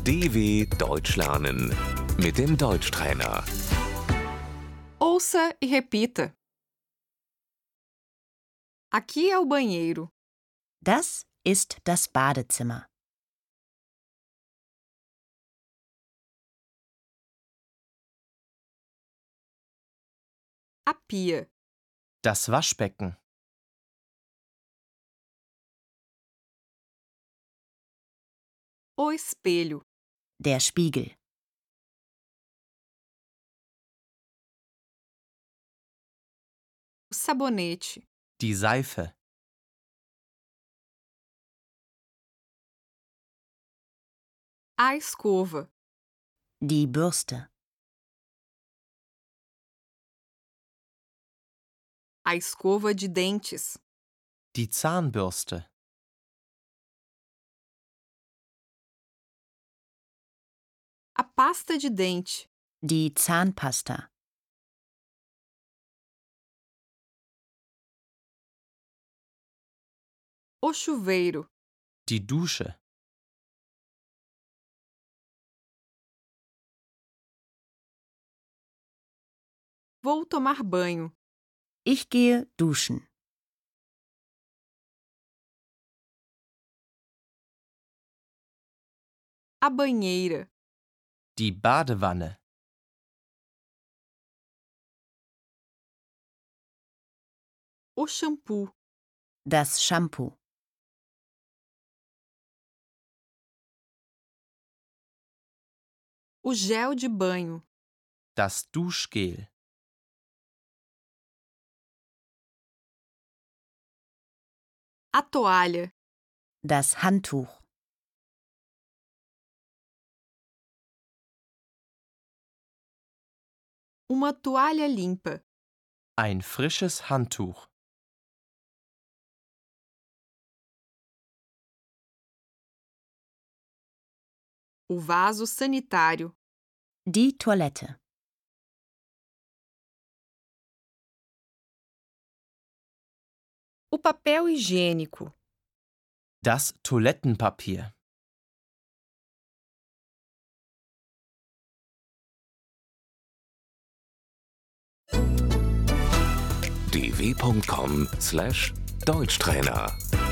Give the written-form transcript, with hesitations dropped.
DW Deutsch lernen mit dem Deutschtrainer. Ouça e repita. Aqui é o banheiro. Das ist das Badezimmer. A pia. Das Waschbecken. O espelho. Der Spiegel. O sabonete. Die Seife. A escova. Die Bürste. A escova de dentes. Die Zahnbürste. A pasta de dente. Die Zahnpasta. O chuveiro. Die Dusche. Vou tomar banho. Ich gehe duschen. A banheira. Die Badewanne. O shampoo. Das Shampoo. O gel de banho. Das Duschgel. A toalha. Das Handtuch. Uma toalha limpa. Ein frisches Handtuch. O vaso sanitário. Die Toilette. O papel higiênico. Das Toilettenpapier. dw.com/Deutschtrainer